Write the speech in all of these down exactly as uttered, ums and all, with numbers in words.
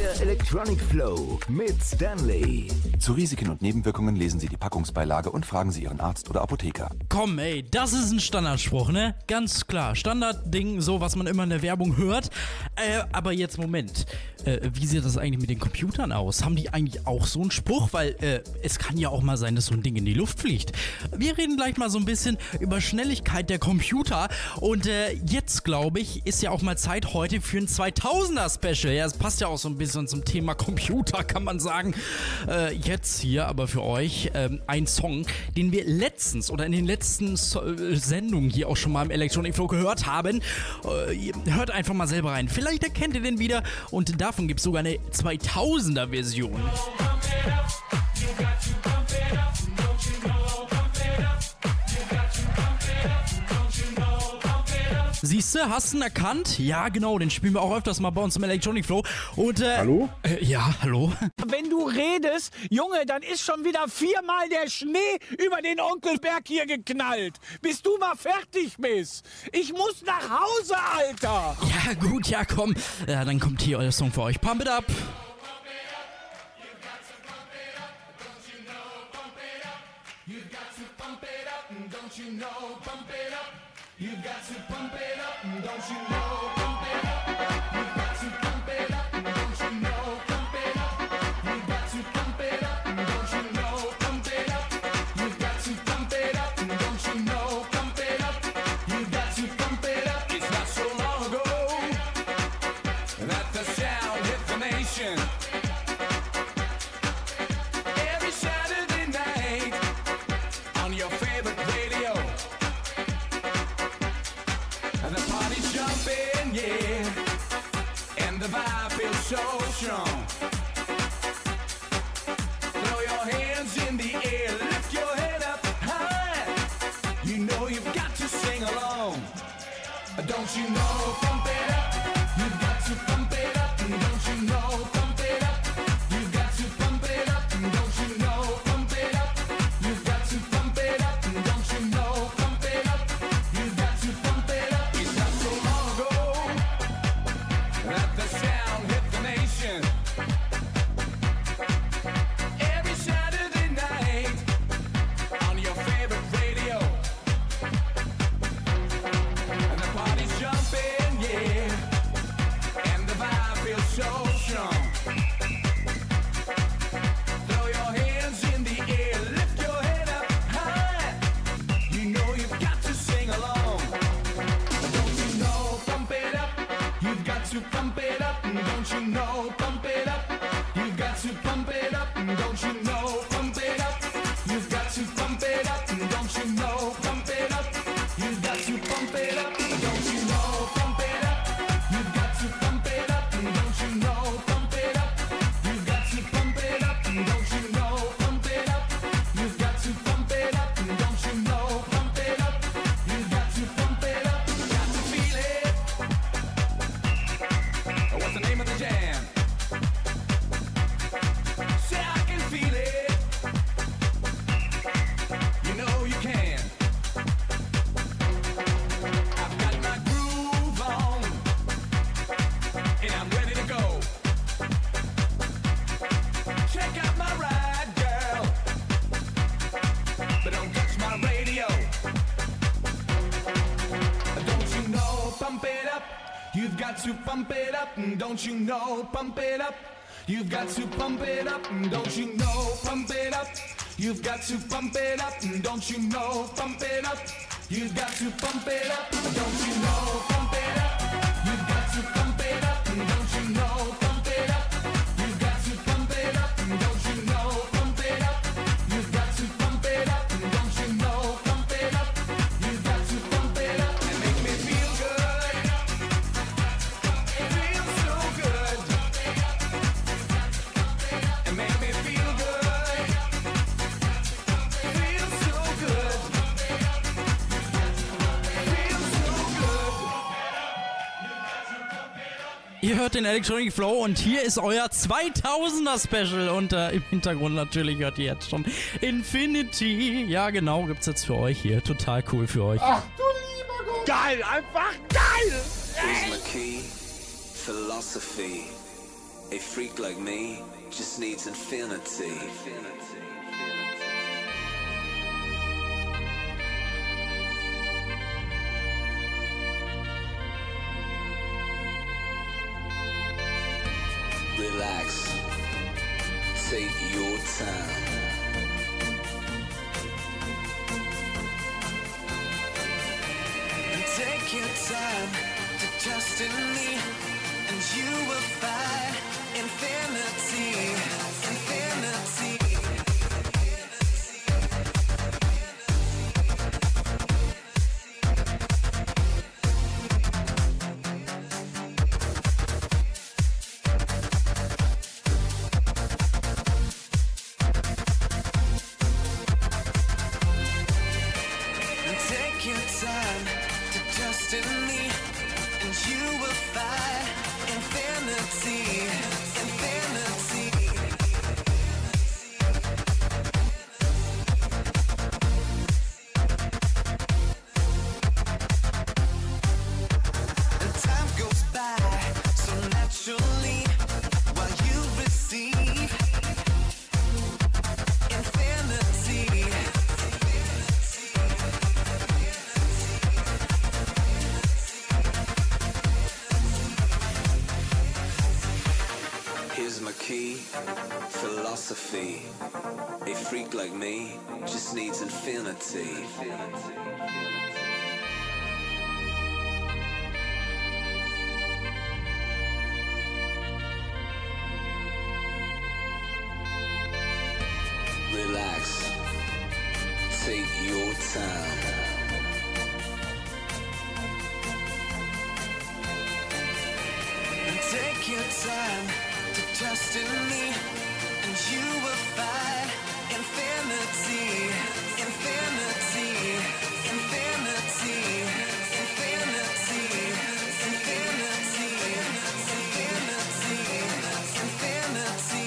Der Electronic Flow mit Stanley. Zu Risiken und Nebenwirkungen lesen Sie die Packungsbeilage und fragen Sie Ihren Arzt oder Apotheker. Komm ey, das ist ein Standardspruch, ne? Ganz klar, Standardding, so was man immer in der Werbung hört. Äh, aber jetzt Moment, äh, wie sieht das eigentlich mit den Computern aus? Haben die eigentlich auch so einen Spruch? Weil äh, es kann ja auch mal sein, dass so ein Ding in die Luft fliegt. Wir reden gleich mal so ein bisschen über Schnelligkeit der Computer. Und äh, jetzt, glaube ich, ist ja auch mal Zeit heute für ein zweitausender-Special. Ja, es passt ja auch so ein bisschen zum Thema Computer, kann man sagen. Äh, jetzt hier aber für euch ähm, ein Song, den wir letztens oder in den letzten so- Sendungen hier auch schon mal im Electronic Flow gehört haben. Äh, hört einfach mal selber rein. Vielleicht erkennt ihr den wieder und davon gibt es sogar eine zweitausender-Version. Siehste, hast du ihn erkannt? Ja, genau, den spielen wir auch öfters mal bei uns im Electronic Flow. Und, äh, Hallo? Äh, ja, hallo? Wenn du redest, Junge, dann ist schon wieder viermal der Schnee über den Onkelberg hier geknallt. Bis du mal fertig bist. Ich muss nach Hause, Alter. Ja, gut, ja, komm. Ja, dann kommt hier euer Song für euch. Pump it up. Every Saturday night on your favorite radio, and the party's jumping, yeah, and the vibe feels so strong. Throw your hands in the air, lift your head up high. You know you've got to sing along. Don't you know? Pump it up. You've got to pump it up. Don't you know? Pump it up. You've got to pump it up. Don't you know? Pump it up. You've got to pump it up. Don't you know? Pump it up. You've got to pump it up. It's not so long ago that the sound hit the nation. Every Saturday night on your favorite radio, and the party's jumping, yeah, and the vibe feels so strong. Throw your hands in the air, lift your head up high. You know you've got to sing along. Don't you know? Pump it up. You've got to pump it up. Don't you know? Pump it up. You've got to pump it up. Don't you know? Pump it up. You've got to pump it up. Don't you know? Pump it up. You've got to pump it up. Don't you know? Pump it up. You've got to pump it up. Don't you know? Pump it up. You've got to pump it up. Don't you know? Pump it up. You've got to pump it up. Don't you know? Pump it up. You've got to pump it up. Got to feel it. What's the name of the jam? Say I can feel it. You know you can. I've got my groove on, and I'm ready to go. Check out my ride, girl, but don't touch my radio. Don't you know? Pump it up. You've got to pump it up. Don't you know? Pump it up. You've got to pump it up. Don't you know? Pump it up. You've got to pump it up. Don't you know? Pump it up. You've got to pump it up. Don't you know? Pump it up. You've got to pump it up. Don't you know? Pump it up. You've got to pump it up. Don't you know? Pump it up. You've got to pump it up. Don't you know? Pump it up. You've got to pump it up and make me feel good. Feel so good. And make me feel good. Feel so good. Feel so good. Ihr hört den Electronic Flow und hier ist euer zweitausender-Special und äh, im Hintergrund natürlich hört ihr jetzt schon Infinity. Ja, genau, gibt's jetzt für euch hier. Total cool für euch. Ach du lieber Gott. Geil, einfach geil. Here's my key, philosophy. A freak like me just needs infinity. Relax, take your time. And take your time to trust in me, and you will find infinity, infinity. Take your time to trust in me, and you will find infinity, infinity. And time goes by so naturally while you receive infinity. Here's my key, philosophy. A freak like me just needs infinity. Relax, take your time. And take your time to trust in me, and you will find infinity, infinity, infinity, infinity, infinity, infinity,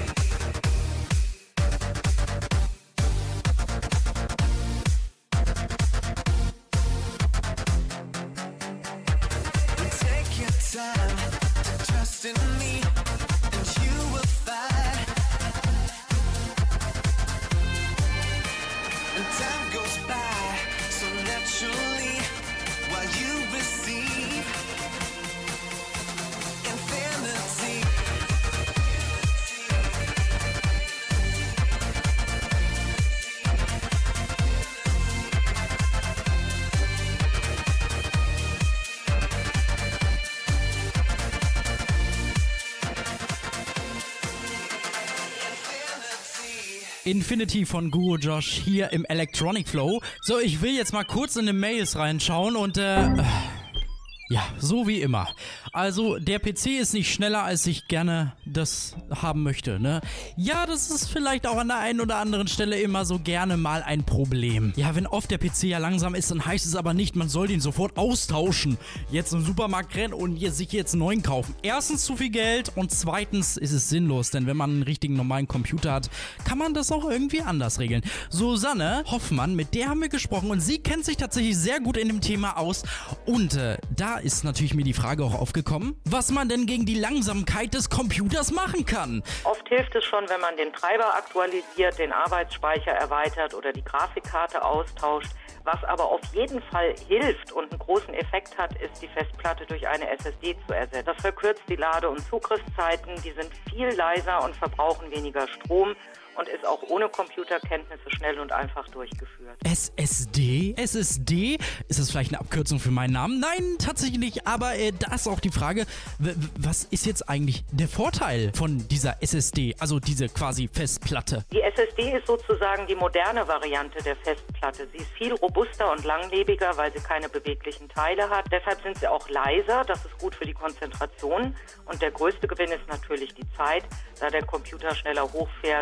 infinity. And take your time to trust in me, and you will find. And time goes by so naturally while you receive infinity. Infinity von Guru Josh hier im Electronic Flow. So, ich will jetzt mal kurz in die Mails reinschauen und äh, ja, so wie immer. Also, der P C ist nicht schneller, als ich gerne das haben möchte, ne? Ja, das ist vielleicht auch an der einen oder anderen Stelle immer so gerne mal ein Problem. Ja, wenn oft der P C ja langsam ist, dann heißt es aber nicht, man soll den sofort austauschen. Jetzt im Supermarkt rennen und sich jetzt einen neuen kaufen. Erstens zu viel Geld und zweitens ist es sinnlos, denn wenn man einen richtigen normalen Computer hat, kann man das auch irgendwie anders regeln. Susanne Hoffmann, mit der haben wir gesprochen und sie kennt sich tatsächlich sehr gut in dem Thema aus und äh, da ist natürlich mir die Frage auch aufgekommen, was man denn gegen die Langsamkeit des Computers machen kann. Oft hilft es schon, wenn man den Treiber aktualisiert, den Arbeitsspeicher erweitert oder die Grafikkarte austauscht. Was aber auf jeden Fall hilft und einen großen Effekt hat, ist die Festplatte durch eine S S D zu ersetzen. Das verkürzt die Lade- und Zugriffszeiten, die sind viel leiser und verbrauchen weniger Strom und ist auch ohne Computerkenntnisse schnell und einfach durchgeführt. S S D? S S D? Ist das vielleicht eine Abkürzung für meinen Namen? Nein, tatsächlich nicht. Aber äh, da ist auch die Frage, w- was ist jetzt eigentlich der Vorteil von dieser S S D? Also diese quasi Festplatte. Die S S D ist sozusagen die moderne Variante der Festplatte. Sie ist viel robuster und langlebiger, weil sie keine beweglichen Teile hat. Deshalb sind sie auch leiser. Das ist gut für die Konzentration. Und der größte Gewinn ist natürlich die Zeit, da der Computer schneller hochfährt, speichert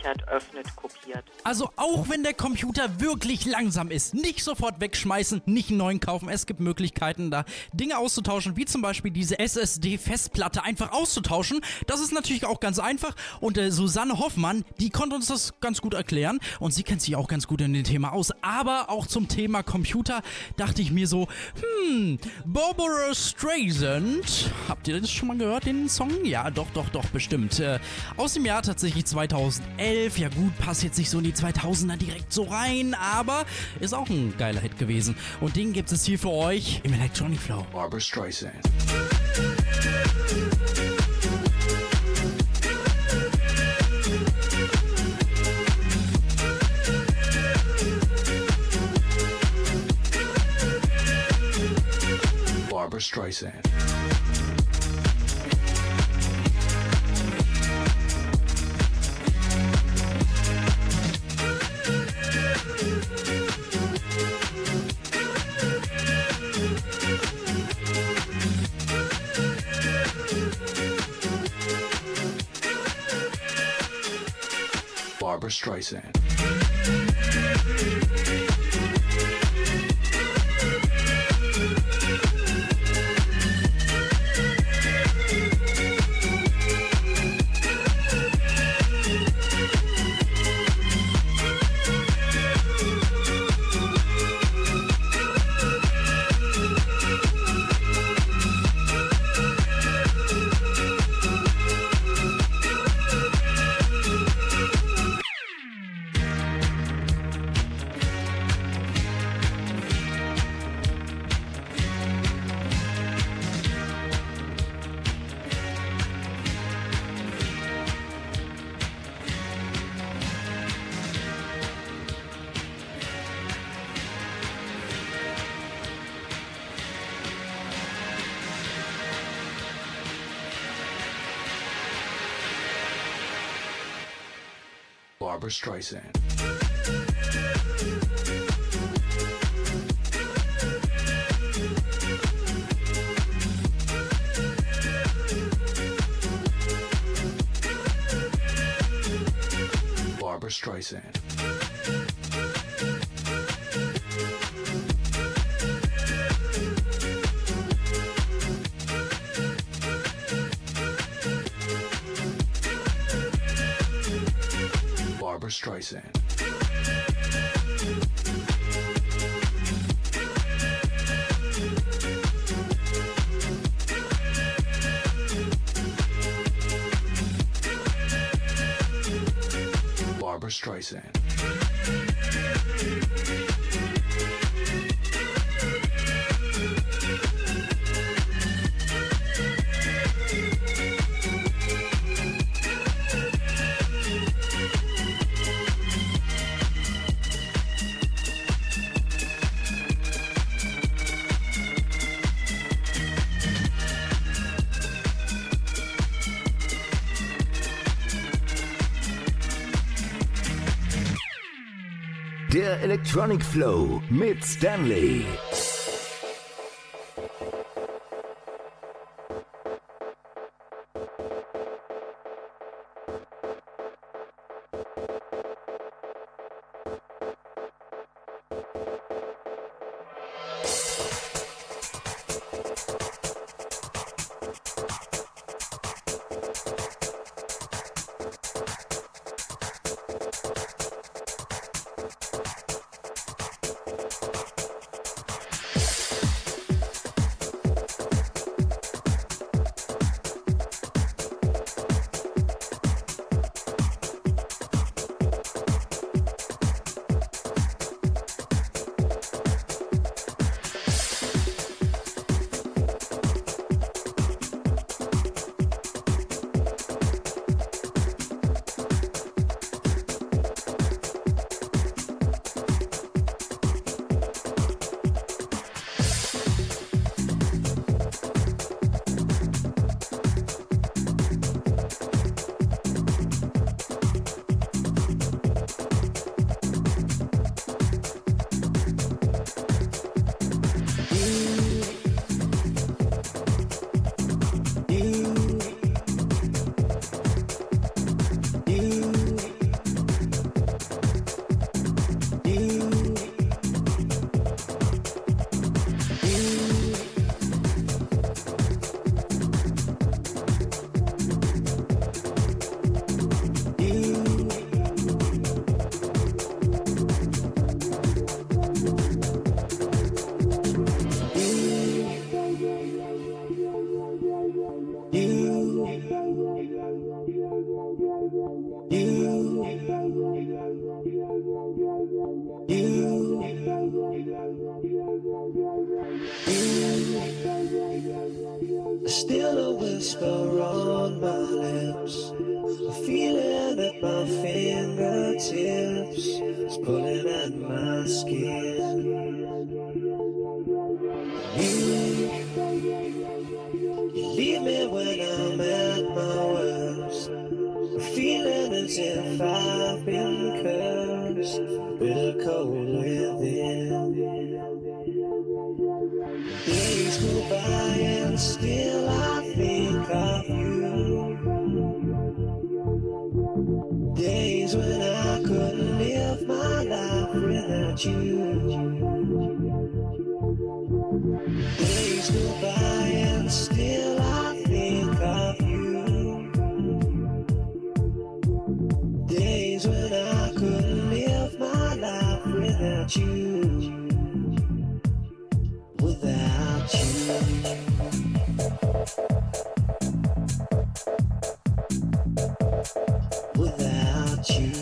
speichert, öffnet, kopiert. Also auch wenn der Computer wirklich langsam ist, nicht sofort wegschmeißen, nicht einen neuen kaufen. Es gibt Möglichkeiten, da Dinge auszutauschen, wie zum Beispiel diese S S D-Festplatte einfach auszutauschen. Das ist natürlich auch ganz einfach. Und äh, Susanne Hoffmann, die konnte uns das ganz gut erklären. Und sie kennt sich auch ganz gut in dem Thema aus. Aber auch zum Thema Computer dachte ich mir so, hm, Barbara Streisand. Habt ihr das schon mal gehört, den Song? Ja, doch, doch, doch, bestimmt. Äh, aus dem Jahr tatsächlich zweitausendelf. Ja gut, passt jetzt nicht so in die zweitausender direkt so rein, aber ist auch ein geiler Hit gewesen. Und den gibt es hier für euch im Electronic Flow. Barbara Streisand. Barbara Streisand. Barbara Streisand. Barbara Streisand. Barbara Streisand. Barbara Streisand. Barbara Streisand. Der Electronic Flow mit Stanley. You, you, you, still a whisper on my lips, a feeling at my fingertips, it's pulling at my skin. You, you leave me when I'm at my worst, feeling as if I've been cursed, bitter cold within. Days go by and still I think of you. Days when I couldn't live my life without you. Days go by and still I think of you. Days when I couldn't live my life without you, without you. Without you.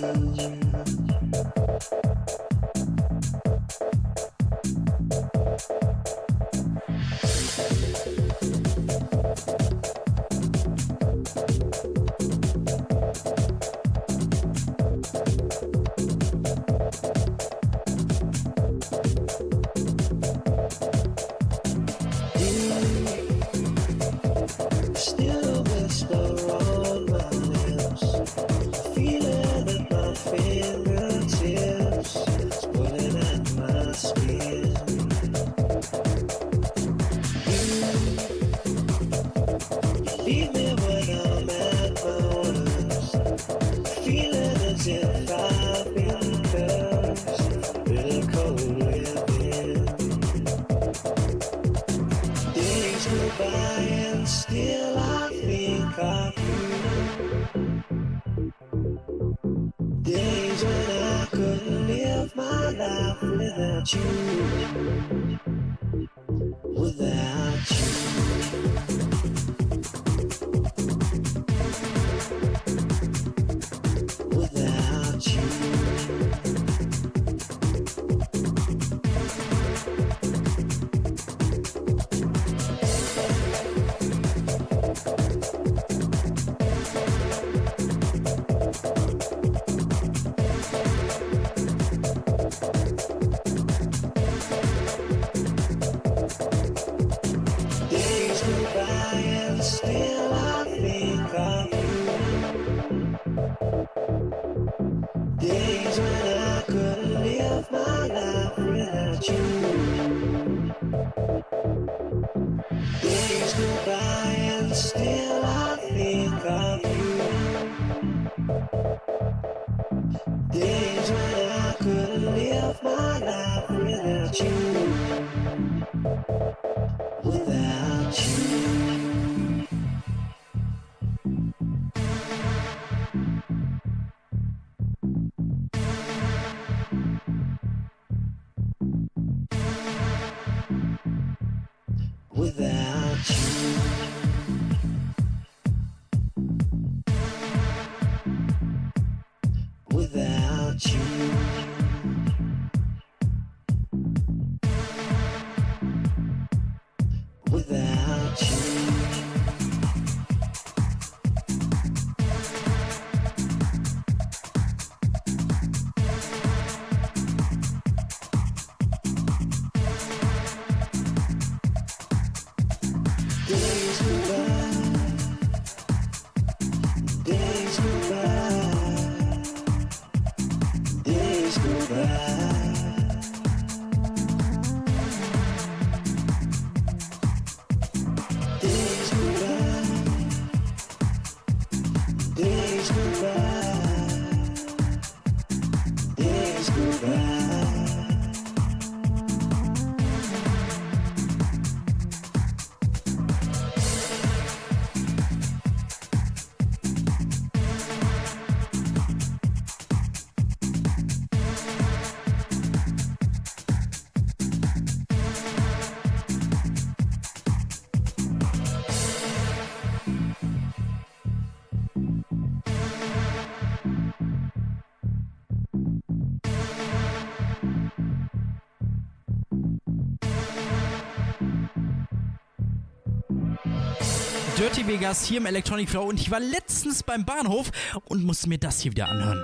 Dirty Vegas hier im Electronic Flow und ich war letztens beim Bahnhof und musste mir das hier wieder anhören.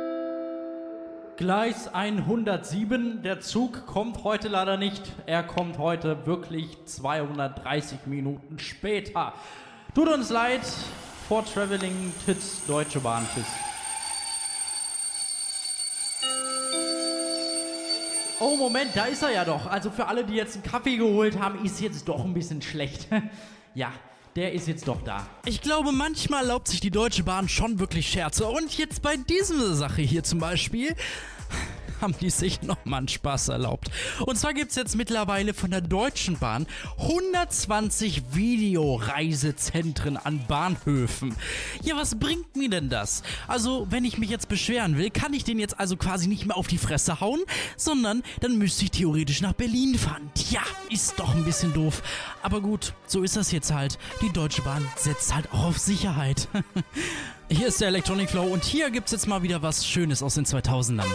Gleis hundertsieben, der Zug kommt heute leider nicht. Er kommt heute wirklich zweihundertdreißig Minuten später. Tut uns leid, for traveling, tschüss, Deutsche Bahn, tschüss. Oh, Moment, da ist er ja doch. Also für alle, die jetzt einen Kaffee geholt haben, ist jetzt doch ein bisschen schlecht. Ja, der ist jetzt doch da. Ich glaube, manchmal erlaubt sich die Deutsche Bahn schon wirklich Scherze. Und jetzt bei dieser Sache hier zum Beispiel haben die sich nochmal einen Spaß erlaubt. Und zwar gibt es jetzt mittlerweile von der Deutschen Bahn hundertzwanzig Videoreisezentren an Bahnhöfen. Ja, was bringt mir denn das? Also, wenn ich mich jetzt beschweren will, kann ich den jetzt also quasi nicht mehr auf die Fresse hauen, sondern dann müsste ich theoretisch nach Berlin fahren. Tja, ist doch ein bisschen doof. Aber gut, so ist das jetzt halt. Die Deutsche Bahn setzt halt auch auf Sicherheit. Hier ist der Electronic Flow und hier gibt's jetzt mal wieder was Schönes aus den zweitausendern.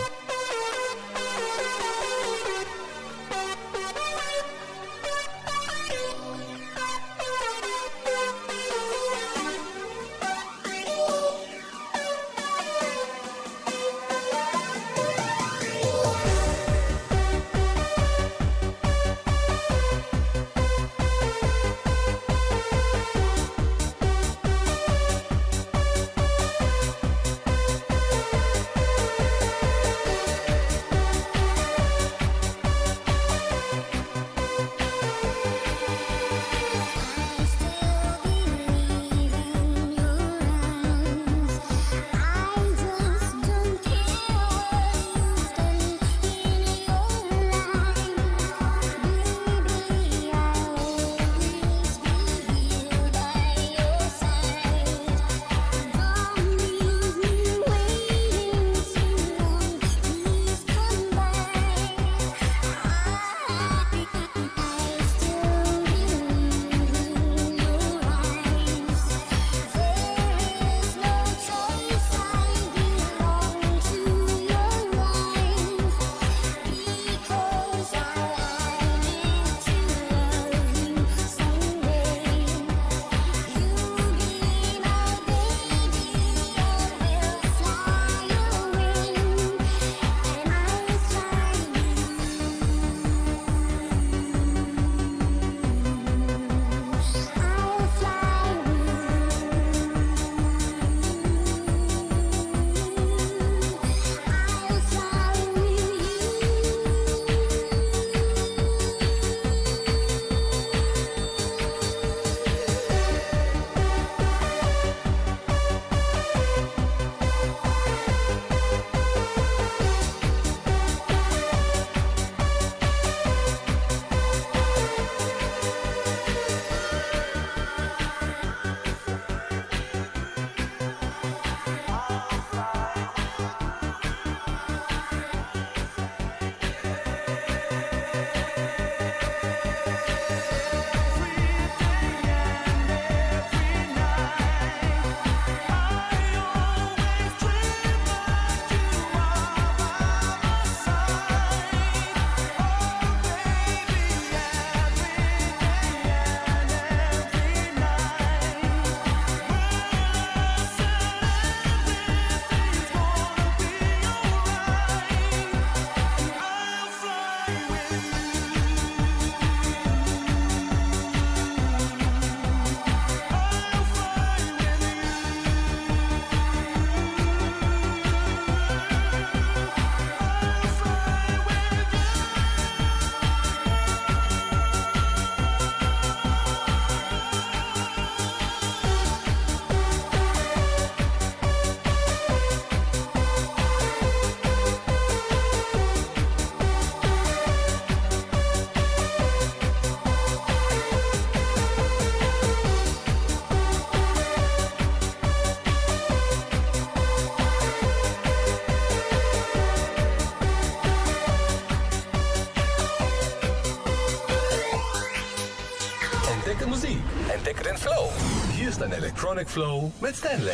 Entdecke Musik, entdecke den Flow. Hier ist ein Electronic Flow mit Stanley.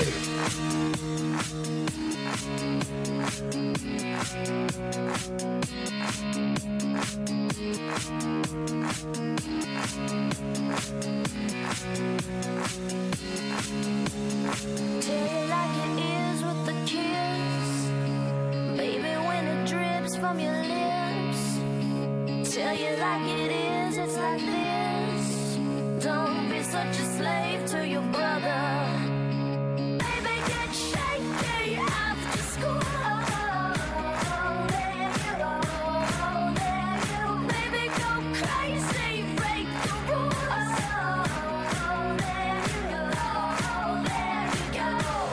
from your lips. Tell you like it is, it's like this. Don't be such a slave to your brother. Baby, get shaky after school. There you go, there you go. Baby, go crazy, break the rules. There you go, there you go.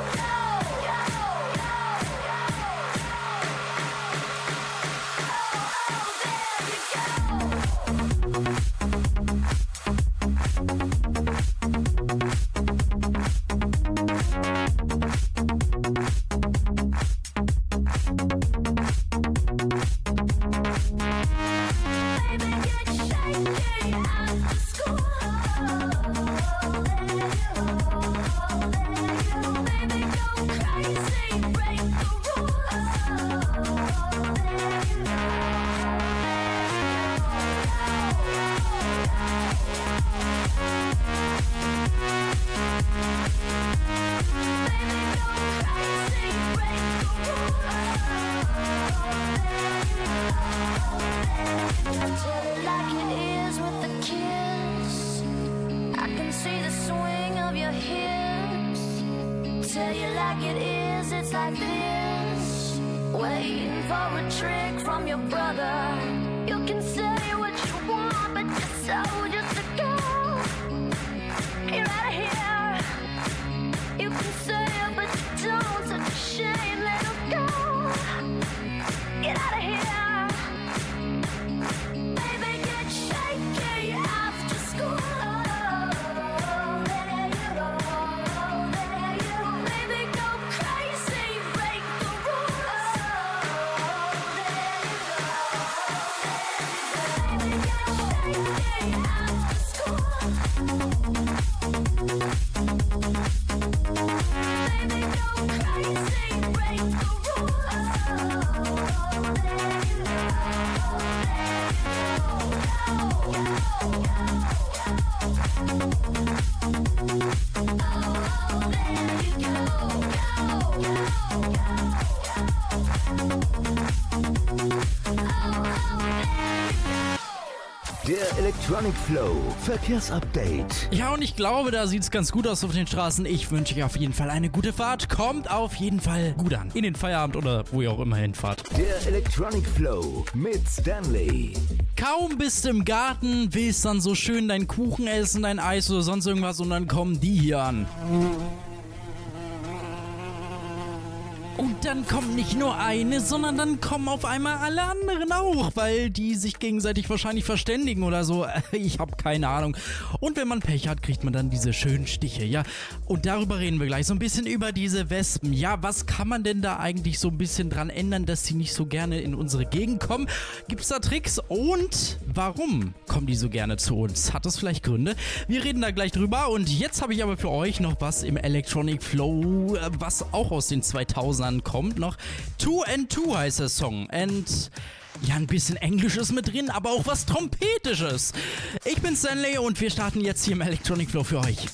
Der Electronic Flow Verkehrsupdate. Ja, und ich glaube, da sieht es ganz gut aus auf den Straßen. Ich wünsche euch auf jeden Fall eine gute Fahrt. Kommt auf jeden Fall gut an. In den Feierabend oder wo ihr auch immer hinfahrt. Der Electronic Flow mit Stanley. Kaum bist du im Garten, willst dann so schön deinen Kuchen essen, dein Eis oder sonst irgendwas und dann kommen die hier an. Und dann kommt nicht nur eine, sondern dann kommen auf einmal alle anderen auch, weil die sich gegenseitig wahrscheinlich verständigen oder so. Ich habe keine Ahnung. Und wenn man Pech hat, kriegt man dann diese schönen Stiche, ja. Und darüber reden wir gleich so ein bisschen über diese Wespen. Ja, was kann man denn da eigentlich so ein bisschen dran ändern, dass sie nicht so gerne in unsere Gegend kommen? Gibt's da Tricks? Und warum kommen die so gerne zu uns? Hat das vielleicht Gründe? Wir reden da gleich drüber. Und jetzt habe ich aber für euch noch was im Electronic Flow, was auch aus den zweitausendern kommt noch. Two and Two heißt der Song. Und ja, ein bisschen Englisches mit drin, aber auch was Trompetisches. Ich bin Stanley und wir starten jetzt hier im Electronic Flow für euch.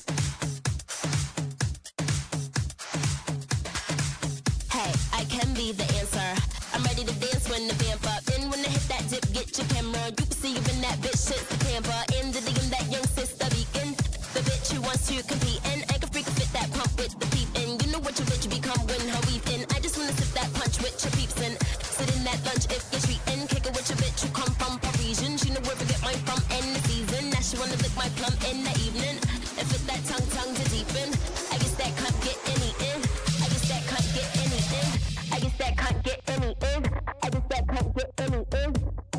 Hey, I can be the answer. I'm ready to dance when the vamp up. Then when I hit that dip, get your camera. You can see you in that bitch, shit's the camper. In the D M, that young sister beacon. The bitch who wants to compete. And I can freak fit that pump with the peep. And you know what your bitch become when her weeping. I just wanna sip that punch with your peeps and sit in that lunch if you're treating. Kick it with your bitch who come from Parisian. She know where to get mine from in the season. Now she wanna lick my plum in the evening. And fit that tongue, tongue to deepen. I guess that can't get any in. I guess that can't get any in. I guess that can't get any in. I guess that can't get any in.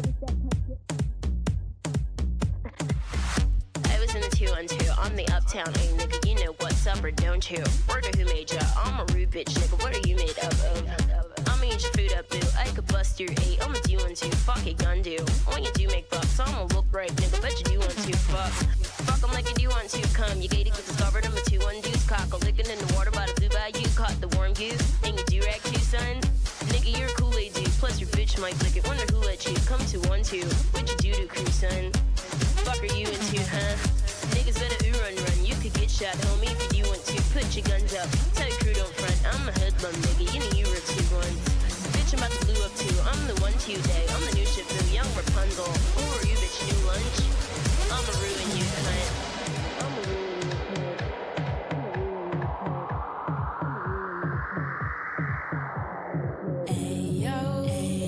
I was in the two on two on the uptown, hey nigga, you know what's up or don't you? Word of who made ya? I'm a rude bitch, nigga, what are you made up of? I'ma eat your food up, boo, I could bust your eight, I'ma do one two, fuck it, gun do. When you do make bucks, I'ma look right, nigga, bet you do want to, fuck. Fuck 'em like you do want to, come, you gated with the starboard, I'm a two one deuce, cock, a lickin' in the water by the blue bayou, caught the warm goose, and you do rag too, son? Nigga, you're a Kool-Aid dude, plus your bitch might lick it, wonder who let you come to one two, what you do to crew, son? Fuck are you into, huh? Niggas better ooh run run, you could get shot, homie, if you do want to. Put your guns up, tell your crew don't front. I'm a hoodlum, nigga, you know you were two ones. Bitch, I'm about to blue up too, I'm the one today. I'm the new Shifu, young Rapunzel. Who are you, bitch? New lunch? I'ma ruin you, cunt. I'ma ruin you, Ayo,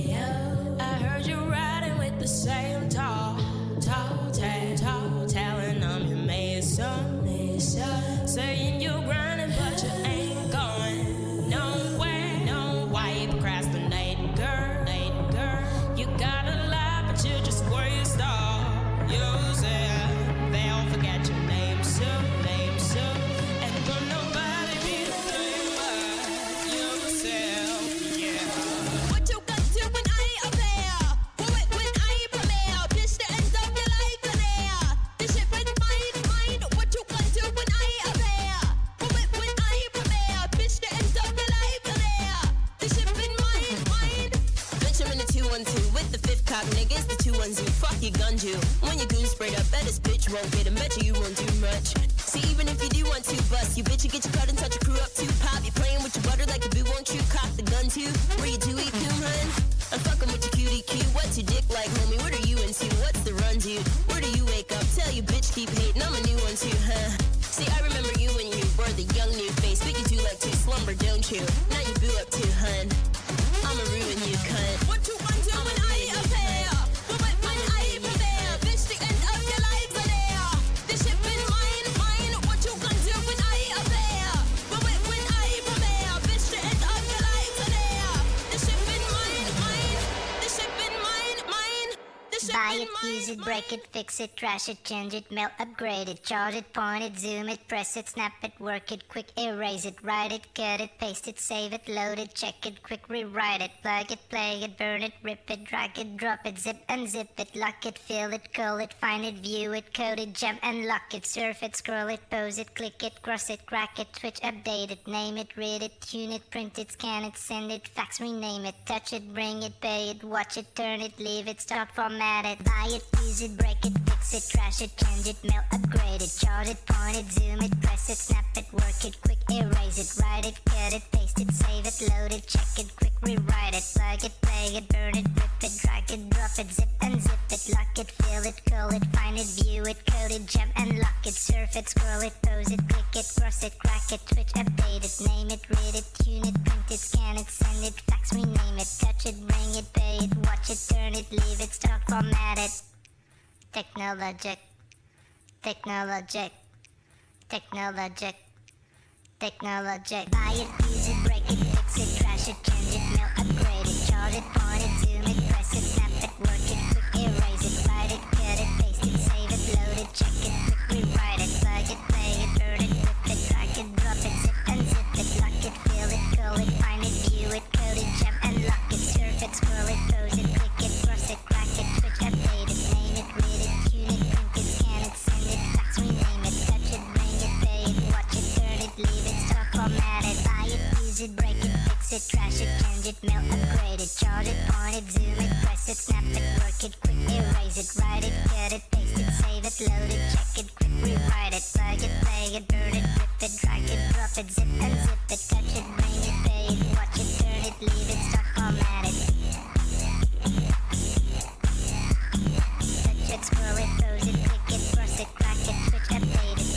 ayo, I heard you riding with the same tall, tall, tall, tall, telling I'm your mason, mason, saying you're grinding but you ain't going nowhere. No, why you procrastinating, girl, girl? You got a lot but you just waste all yourself. They'll forget your name soon, name soon, and will nobody be the same but yourself, yeah. What you got to when I appear? When, when I premiere, bitch, the end of your life in there. This shit with mine, mine. What you got to when I appear? When, when I premiere, bitch, the end of your life in there. This shit with mine, mine. Bitch, I'm in the two one two with the fifth cop niggas, the two one zoo. Fuck you, gun you. When your goon sprayed up, bet this bitch won't get him. Bet you you won't do much. See, even if you do want to bust, you bitch, you get your cut and touch your crew up too. Pop, you playing with your butter like a boo, won't you cock the gun too? Where you do eat coon, hun? I'm fucking with your cutie cue. What's your dick like, homie? What are you into? What's the run, dude? Where do you wake up? Tell you bitch keep hating. I'm a new one too, huh? See, I remember you when you were the young new face. But you do like to slumber, don't you? Now you boo up too, hun. I'ma ruin you, cunt. What you want to when I appear? When, when I prepare, bitch, the end of your life in there. This shit been mine, mine. What you gonna do when I appear? When, when I prepare, bitch, the end of your life in there. This shit been mine, mine. This shit been mine, mine. This shit Buy been it, mine, use it, mine. break it, fix it, trash it, change it, melt, upgrade it, charge it, point it, zoom it, press it, snap it, work it, quick erase it, write it, cut it, paste it, save it, load it, check it, quick rewrite it, plug it, play it, burn it, rip it, drag it, drop it, zip unzip it, lock it, fill it, call it, find it, view it, code it, jump and lock it, surf it, scroll it, pose it, click it, cross it, crack it, switch, update it, name it, read it, tune it, print it, scan it, send it, fax, rename it, touch it, bring it, pay it, watch it, turn it, leave it, start, format it, buy it, use it, break it, fix it, trash it, change it, melt, upgrade it, charge it, point it, zoom it, press it, snap it, work it, quick erase it, write it, cut it, paste it, save it, load it, check it, quick rewrite it, plug it, play it, burn it, rip it, drag it, drop it, zip unzip it, lock it, fill it, call it, find it, view it, code it, jump and lock it, surf it, scroll it, pose it, click it, cross it, crack it, switch, update it, name it, read it, tune it, print it, scan it, send it, fax, rename it, touch it, bring it, pay it, watch it, turn it, leave it, start, format it. Technologic, technologic, technologic, technologic. Buy it, use it, break it, fix it, trash it, change it, melt, upgrade it, charge it, point it, zoom it, press it, snap it, work it, quick erase it, write it, cut it, paste it, save it, load it, check it, quick rewrite it, plug it, play it, burn it, rip it, drag it, drop it, zip unzip it, lock it, fill it, call it, find it, view it, code it, jump and lock it, surf it, scroll it, pose it, click it, cross it, crack it, switch, update it, name it, read it, tune it, print it, scan it, send it, fax, rename it, touch it, bring it, pay it, watch it, turn it, leave it, start, format it, buy it, use it, break it, fix it, trash it, change it, melt, upgrade it, charge it, point it, zoom it, press it, snap it, work it, quick erase it, write it, cut it, paste it, save it, load it, check it, quick rewrite it, plug it, play it, burn it, rip it, drag it, drop it, zip unzip it, touch it, bring it, pay it, watch it, turn it, leave it, start, format it. Touch it, scroll it, pose it, click it, cross it, crack it, switch, update it.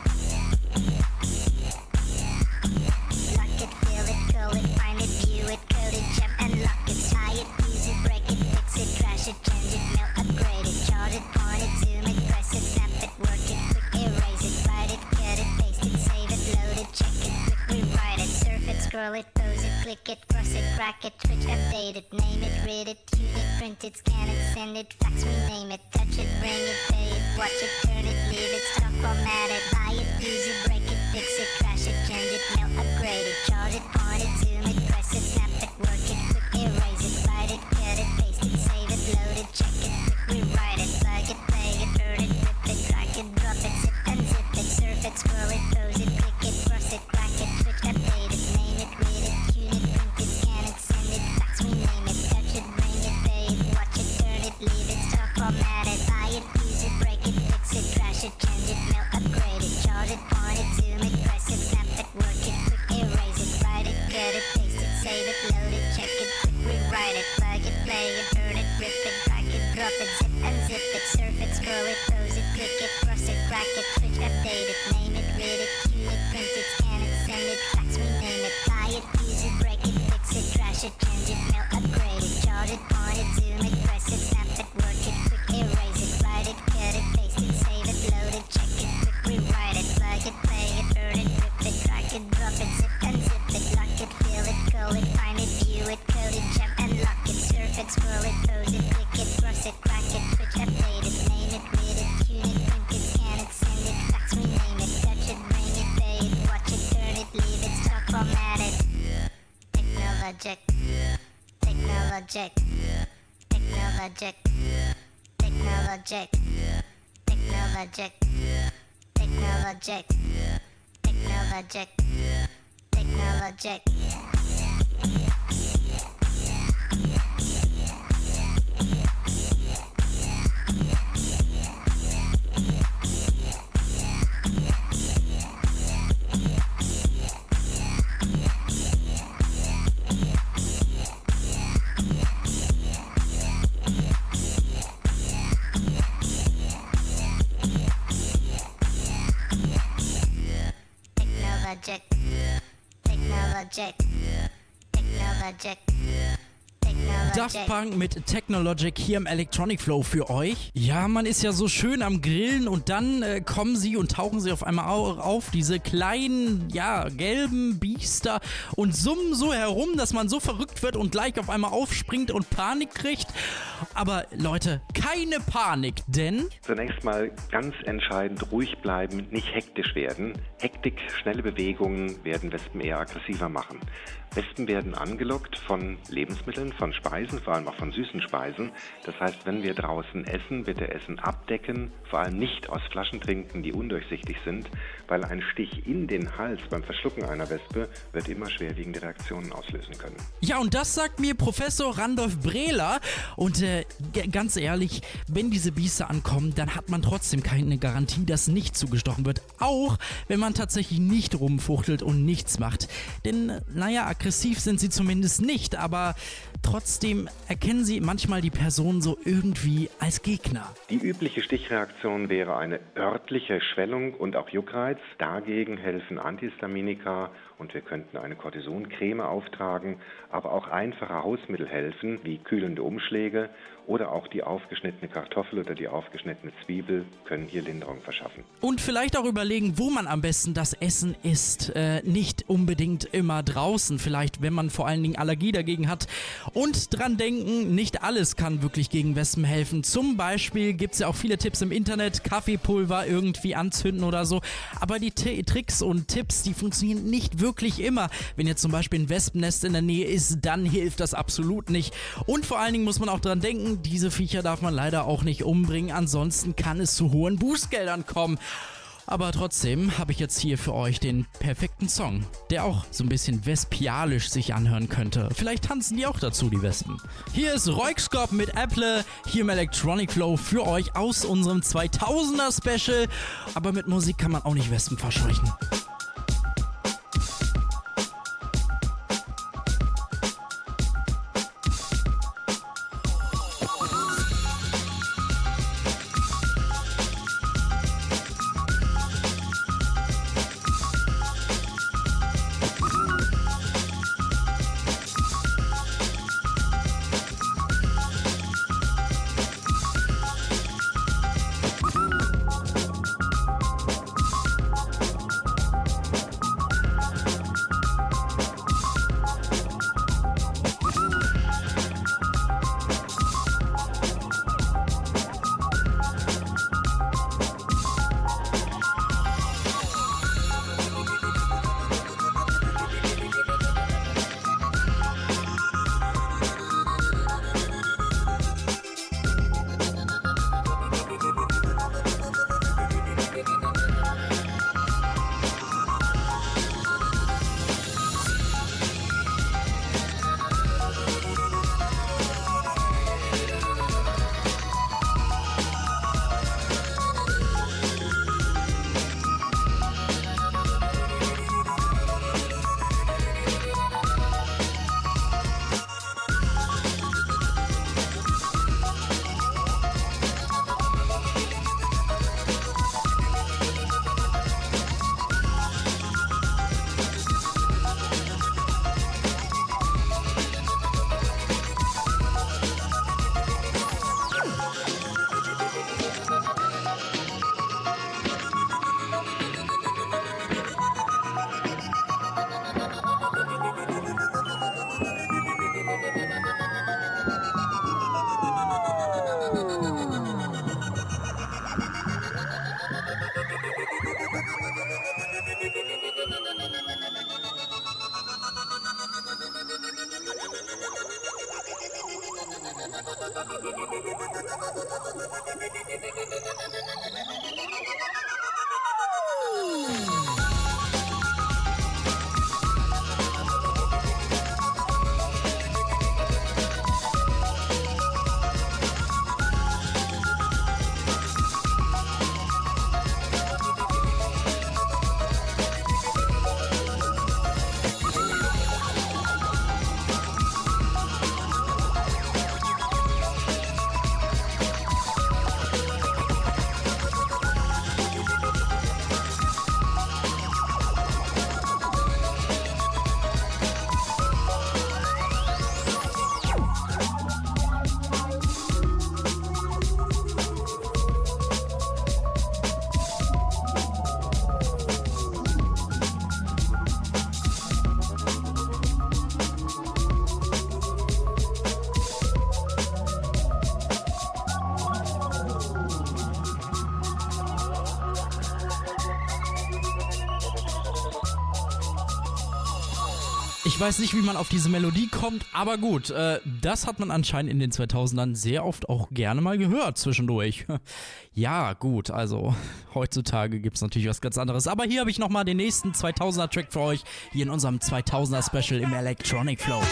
Lock it, fill it, call it, find it, view it, code it, jump and lock it, tie it, use it, break it, fix it, trash it, change it, melt, upgrade it, charge it, point it, zoom it, press it, snap it, work it, quick erase it, write it, cut it, paste it, save it, load it, check it, quick rewrite it, surf it, scroll it, pose it, click it, cross it, crack it, switch, update it, name it, read it, tune it, print it, scan it, send it, fax, rename it, touch it, bring it, pay it, watch it, turn it, leave it, stop, format it, buy it, use it, break it, fix it, trash it, change it, melt, upgrade it, charge it, point it, zoom it, press it, snap it, work it, quick erase it, write it, cut it, paste it, save it, load it, check it, quick rewrite it, plug it, play it, burn it, rip it, drag it, drop it, zip unzip it, surf it, scroll it, pose it, click it, cross it, crack it, switch, update it, name it, read it, tune it, print it, scan it, send it, fax, rename it, touch it, bring it, pay it, watch it, turn it, leave it, start, format it, buy it, use it, break it, fix it, trash it, change it, melt, upgrade it, charge it, point it, zoom it, press it, snap it, work it, quick erase it, write it, Technologic. Technologic. Technologic. Technologic. Technologic. Technologic. Technologic. Technologic. Technologic. Technologic. Technologic. Daft Punk mit Technologic hier im Electronic Flow für euch. Ja, man ist ja so schön am Grillen und dann äh, kommen sie und tauchen sie auf einmal au- auf, diese kleinen, ja, gelben Biester und summen so herum, dass man so verrückt wird und gleich auf einmal aufspringt und Panik kriegt. Aber Leute, keine Panik, denn... Zunächst mal ganz entscheidend ruhig bleiben, nicht hektisch werden. Hektik, schnelle Bewegungen werden Wespen eher aggressiver machen. Wespen werden angelockt von Lebensmitteln, von Speisen, vor allem auch von süßen Speisen. Das heißt, wenn wir draußen essen, bitte Essen abdecken, vor allem nicht aus Flaschen trinken, die undurchsichtig sind, weil ein Stich in den Hals beim Verschlucken einer Wespe wird immer schwerwiegende Reaktionen auslösen können. Ja, und das sagt mir Professor Randolph Brehler. Und äh, g- ganz ehrlich, wenn diese Biester ankommen, dann hat man trotzdem keine Garantie, dass nicht zugestochen wird. Auch wenn man tatsächlich nicht rumfuchtelt und nichts macht. Denn, naja, aggressiv sind sie zumindest nicht, aber trotzdem erkennen sie manchmal die Person so irgendwie als Gegner. Die übliche Stichreaktion wäre eine örtliche Schwellung und auch Juckreiz. Dagegen helfen Antihistaminika und wir könnten eine Cortisoncreme auftragen, aber auch einfache Hausmittel helfen, wie kühlende Umschläge oder auch die aufgeschnittene Kartoffel oder die aufgeschnittene Zwiebel können hier Linderung verschaffen. Und vielleicht auch überlegen, wo man am besten das Essen isst. Äh, nicht unbedingt immer draußen, vielleicht wenn man vor allen Dingen Allergie dagegen hat. Und dran denken, nicht alles kann wirklich gegen Wespen helfen. Zum Beispiel gibt es ja auch viele Tipps im Internet, Kaffeepulver irgendwie anzünden oder so. Aber die T- Tricks und Tipps, die funktionieren nicht wirklich immer. Wenn jetzt zum Beispiel ein Wespennest in der Nähe ist, dann hilft das absolut nicht. Und vor allen Dingen muss man auch dran denken, diese Viecher darf man leider auch nicht umbringen, ansonsten kann es zu hohen Bußgeldern kommen. Aber trotzdem habe ich jetzt hier für euch den perfekten Song, der auch so ein bisschen vespialisch sich anhören könnte. Vielleicht tanzen die auch dazu, die Wespen. Hier ist Roixkop mit Apple, hier im Electronic Flow für euch aus unserem zweitausender Special. Aber mit Musik kann man auch nicht Wespen verscheuchen. Ich weiß nicht, wie man auf diese Melodie kommt, aber gut, äh, das hat man anscheinend in den zweitausendern sehr oft auch gerne mal gehört zwischendurch. Ja, gut, also heutzutage gibt es natürlich was ganz anderes. Aber hier habe ich nochmal den nächsten zweitausender-Track für euch, hier in unserem zweitausender-Special im Electronic Flow.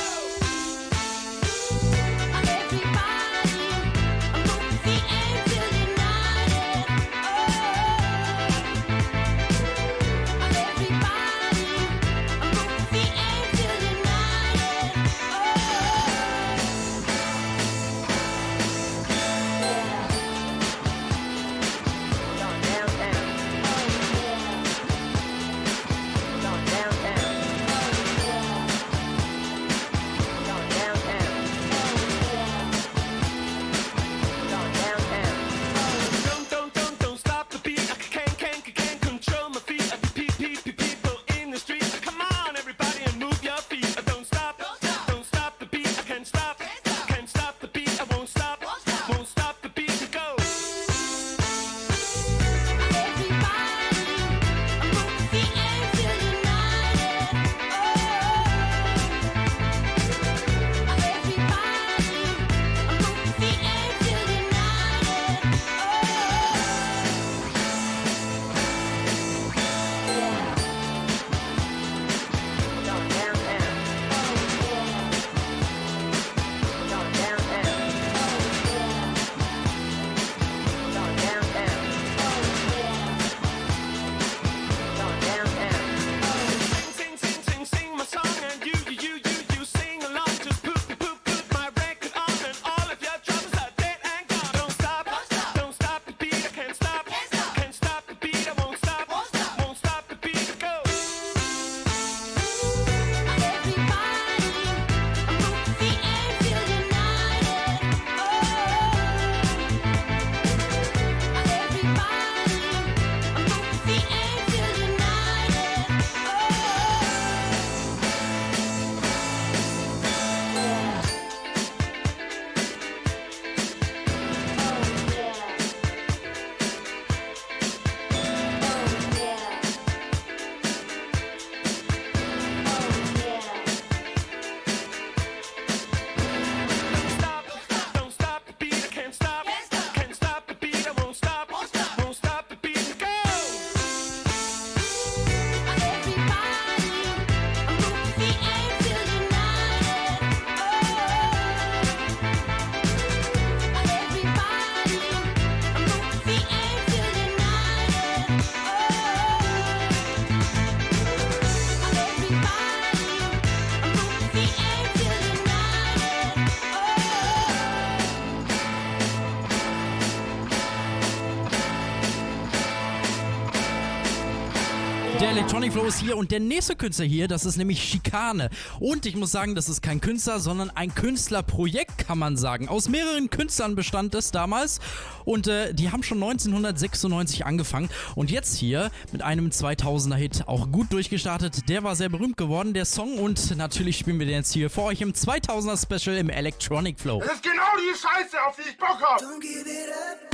Der Electronic Flow ist hier und der nächste Künstler hier, das ist nämlich Schikane. Und ich muss sagen, das ist kein Künstler, sondern ein Künstlerprojekt, kann man sagen. Aus mehreren Künstlern bestand es damals und äh, die haben schon neunzehnhundertsechsundneunzig angefangen und jetzt hier mit einem zweitausender-Hit auch gut durchgestartet. Der war sehr berühmt geworden, der Song, und natürlich spielen wir den jetzt hier für euch im zweitausender-Special im Electronic Flow. Das ist genau die Scheiße, auf die ich Bock hab! Don't give it up.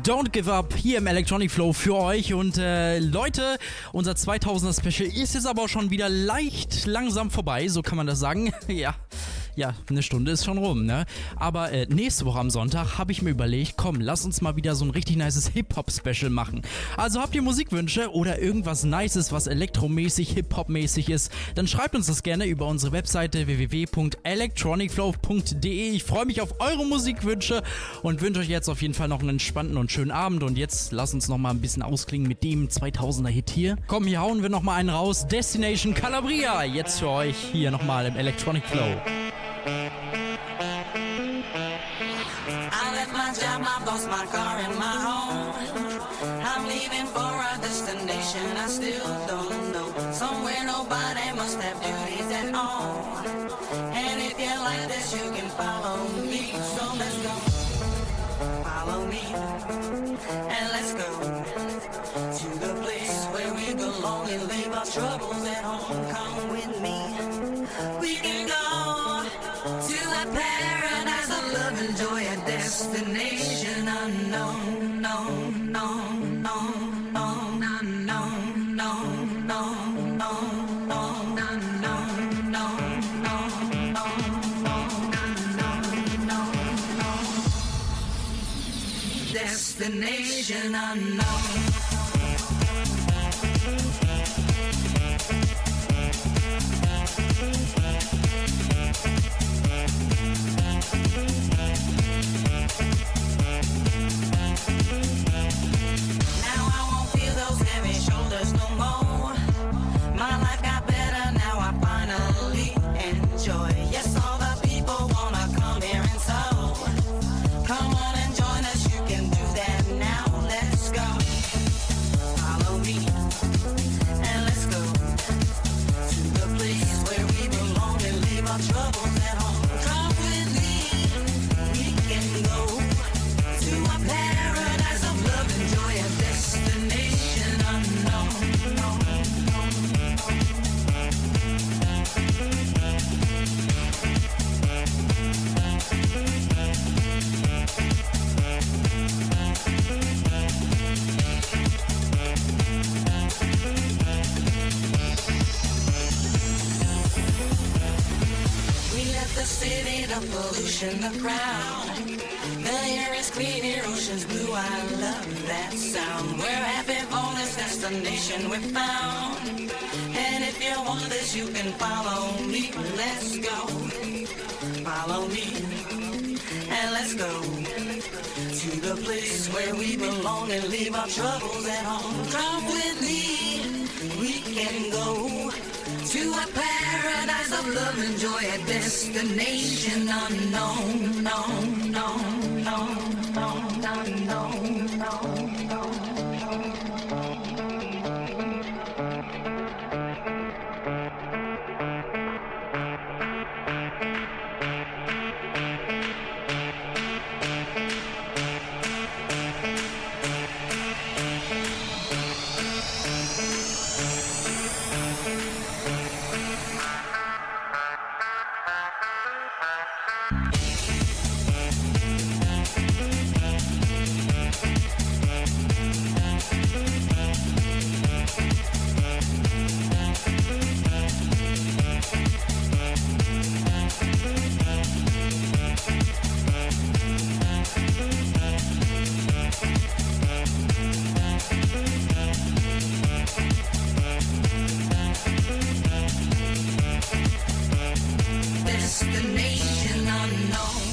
Don't Give Up hier im Electronic Flow für euch. Und äh, Leute, unser zweitausender Special ist jetzt aber auch schon wieder leicht langsam vorbei, so kann man das sagen. ja. Ja, eine Stunde ist schon rum, ne? Aber äh, nächste Woche am Sonntag habe ich mir überlegt, komm, lass uns mal wieder so ein richtig nices Hip-Hop-Special machen. Also habt ihr Musikwünsche oder irgendwas Nices, was elektromäßig, Hip-Hop-mäßig ist, dann schreibt uns das gerne über unsere Webseite w w w punkt electronic flow punkt d e. Ich freue mich auf eure Musikwünsche und wünsche euch jetzt auf jeden Fall noch einen entspannten und schönen Abend. Und jetzt lasst uns noch mal ein bisschen ausklingen mit dem zweitausender-Hit hier. Komm, hier hauen wir noch mal einen raus. Destination Calabria, jetzt für euch hier nochmal im Electronic Flow. I left my job, my boss, my car, and my home. I'm leaving for a destination I still don't know. Somewhere nobody must have duties at all. And if you like this, you can follow me. So let's go. Follow me. And let's go to the place where we belong and leave our troubles at home. Come with me. We can go to a paradise of love and joy, a destination unknown, no, no, no, no, no, no, no, no, destination unknown. Pollution, the crowd. The air is clear, ocean's blue. I love that sound. We're happy for this destination we found. And if you want this, you can follow me. Let's go. Follow me. And let's go to the place where we belong and leave our troubles at home. Come with me. We can go to a paradise of love and joy, a destination unknown, no, no, no, no, no, no, no, no. Destination unknown.